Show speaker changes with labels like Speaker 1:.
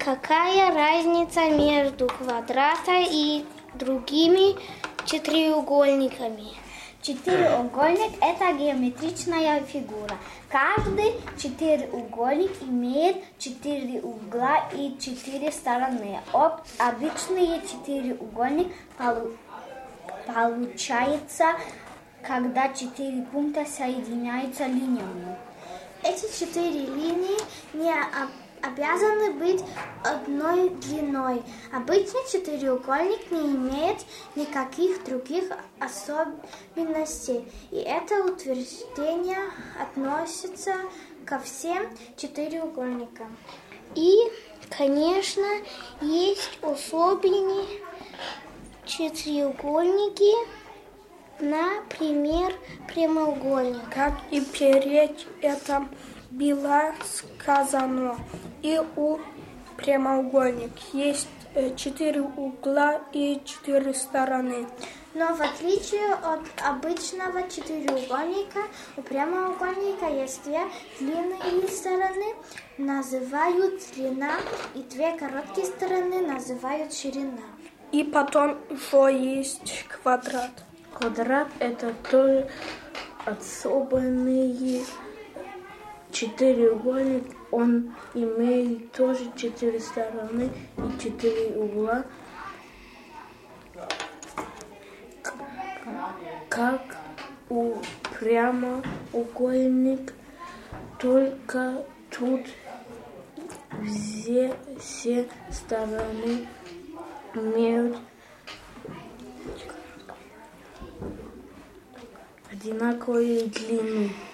Speaker 1: Какая разница между квадратом и другими четыреугольниками?
Speaker 2: Четыреугольник – это геометричная фигура. Каждый четыреугольник имеет 4 угла и 4 стороны. Обычный четыреугольник получается, когда 4 пункта соединяются линиями.
Speaker 1: Эти 4 линии не обязаны быть одной длиной. Обычный четыреугольник не имеет никаких других особенностей. И это утверждение относится ко всем четыреугольникам. И, конечно, есть особенные четыреугольники, например, прямоугольник.
Speaker 3: Как и перед этим было сказано, и у прямоугольника есть 4 угла и 4 стороны.
Speaker 1: Но в отличие от обычного четыреугольника, у прямоугольника есть 2 длинные стороны, называют длина, и 2 короткие стороны называют ширина.
Speaker 3: И потом еще есть квадрат.
Speaker 4: Квадрат – это тоже особенный четыреугольник. Он имеет тоже 4 стороны и 4 угла. Как у прямоугольника, только тут все стороны имеют одинаковую длину.